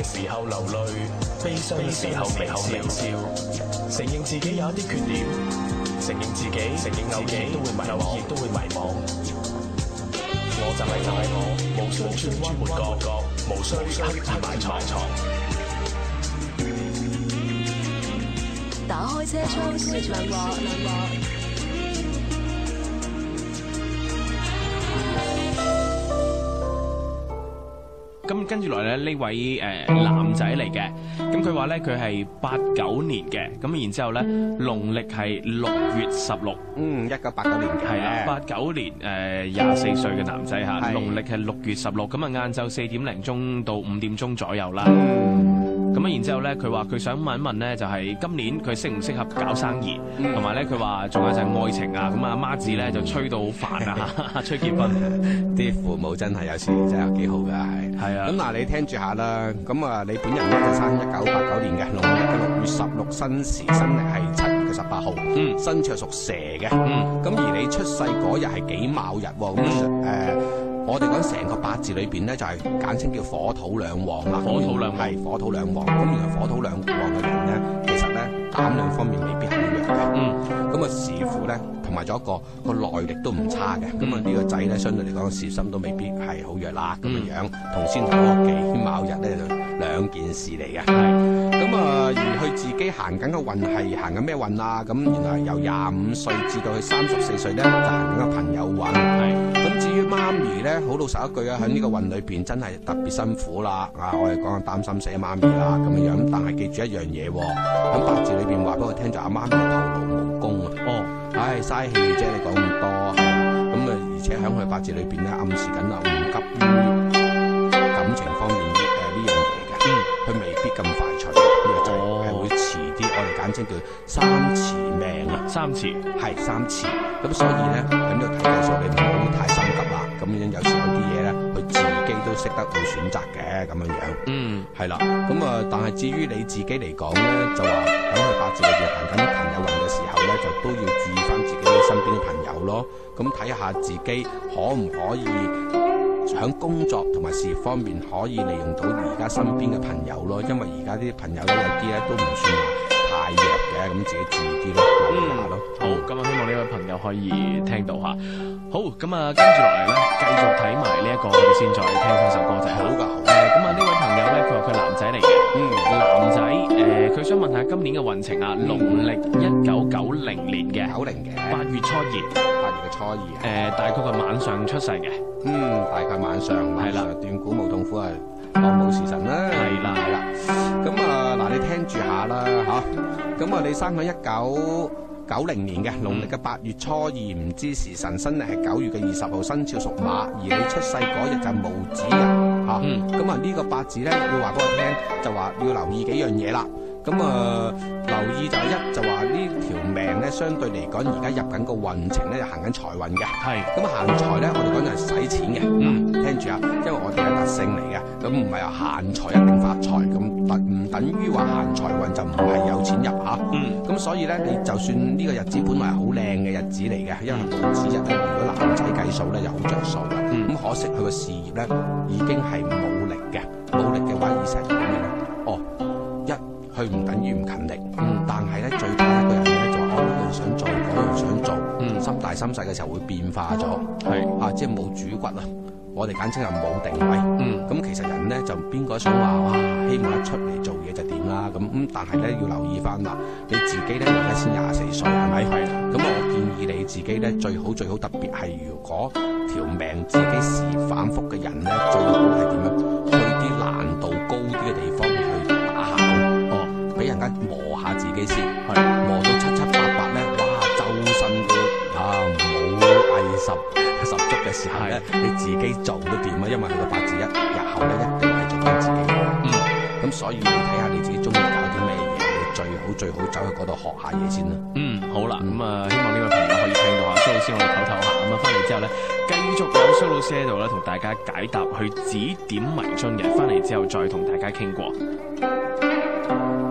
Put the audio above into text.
時候流淚，悲傷嘅時候微笑，承認自己有一啲缺點，承認自己偶爾都會迷茫。我就係我，無需轉彎抹角，無需刻意埋藏。 打開車窗說亮話。 咁跟住來咧，呢位男仔嚟嘅，咁佢話咧佢係89年嘅，咁然之後咧農曆係6月16， 1989年嘅， 係啦，89年24歲嘅男仔嚇，農曆係6月16，咁啊晏晝4點零鐘到5點鐘左右啦。咁啊，然之後咧，佢話佢想問一問咧，就係今年佢適唔適合搞生意，同埋咧佢話仲有就係愛情啊，咁啊媽子咧就催到好煩啊，催結婚。 啲父母真係有時真係幾好㗎，係啊。咁嗱，你聽住下啦。咁啊，你本人咧就生1989年嘅，農曆嘅6月16，新時新曆係7月18號，生肖屬蛇嘅。咁而你出世嗰日係己卯日喎，咁我哋講成個八字裏邊咧，就係簡稱叫火土兩旺啦。火土兩旺，咁原來火土兩旺嘅人咧，其實咧膽量方面未必係好弱嘅。咁啊，視乎咧，同埋咗個耐力都唔差嘅。咁啊，呢個仔咧，相對嚟講事心都未必係好弱啦。咁樣樣同先頭嗰己卯日咧，就兩件事嚟嘅。咁啊，而佢自己行緊嘅運係行緊咩運啊？咁原來由25歲至到佢34歲咧，就行緊個朋友運。咁至於媽咪咧，好老實一句啊，喺呢個運裏邊真係特別辛苦啦。我哋講擔心死媽咪啦咁樣樣，但係記住一樣嘢喎，喺八字裏邊話俾我聽就阿媽咪係徒勞無功啊。唉，嘥氣啫，你講咁多。咁啊，而且喺佢八字裏邊咧，暗示緊啊，唔急於感情方面呢樣嘢嘅。佢未必咁快脆，呢個仔係會遲啲。我哋簡稱叫三遲命啊。三遲。咁所以咧喺呢個睇計數，你唔好太心急啦。咁樣有時有啲嘢咧，佢自己都識得會選擇嘅咁樣樣。係啦。咁啊，但係至於你自己嚟講咧，就話喺佢八字裏邊行緊朋友運嘅時候咧，就都要注意翻自己身邊嘅朋友咯。咁睇下自己可唔可以喺工作同埋事業方面可以利用到而家身邊嘅朋友咯。因為而家啲朋友咧有啲咧都唔算話太弱嘅，咁自己注意啲咯，留意下咯。 好，咁啊，希望呢位朋友可以聽到嚇。好，咁啊，跟住落嚟咧，繼續睇埋呢一個，我哋先再聽翻首歌就係好㗎。咁啊，呢位朋友咧，佢話佢男仔嚟嘅，男仔佢想問下今年嘅運程啊，農曆1990年嘅 ，90嘅 8月初2，大概係晚上出世嘅， 大概晚上係啦， 斷估冇痛苦啊，當冇時辰啦，係啦。咁啊，嗱，你聽住下啦嚇。咁啊，你生喺1990年嘅農曆嘅8月初2，唔知時辰，新曆係9月嘅20號，生肖屬馬，而你出世嗰日就係戊子日嚇。咁啊，呢個八字咧要話俾我聽，就話要留意幾樣嘢啦。咁啊，留意就一就話呢條命咧，相對嚟講而家入緊個運程咧，就行緊財運嘅。咁啊，行財咧，我哋講就係使錢嘅。聽住啊，因為我哋嘅特性嚟嘅，咁唔係話行財一定發財，咁唔等於話行財運就唔係有錢入嚇。咁所以咧，你就算呢個日子本來係好靚嘅日子嚟嘅，因為戊子日咧，如果男仔計數咧，就好着數嘅。咁可惜佢個事業咧已經係冇力嘅，冇力嘅話意思係點樣咧？佢唔等於唔勤力，但係咧最怕一個人咧就話我呢樣想做，嗰樣想做，心大心細嘅時候會變化咗，即係冇主骨啊！我哋簡稱係冇定位。咁其實人咧就邊個想話哇，希望一出嚟做嘢就點啦咁但係咧要留意翻啦，你自己咧而家先24歲係咪？咁我建議你自己咧最好，特別係如果條命自己事業反覆嘅人咧，最好係點樣？去啲難度高啲嘅地方去打下工，俾人家磨下自己先，磨到七七八八咧，哇，周身都冇藝十足嘅時候咧，你自己做都掂啊，因為佢個八字日後咧一定係做緊自己嘅。咁所以你睇下你自己中意搞啲咩嘢，你最好走去嗰度學下嘢先啦。 好啦，咁啊，希望呢位朋友可以聽到啊，蘇老師我哋唞下，咁啊翻嚟之後咧，繼續有蘇老師喺度咧，同大家解答去指點迷津嘅，翻嚟之後再同大家傾過。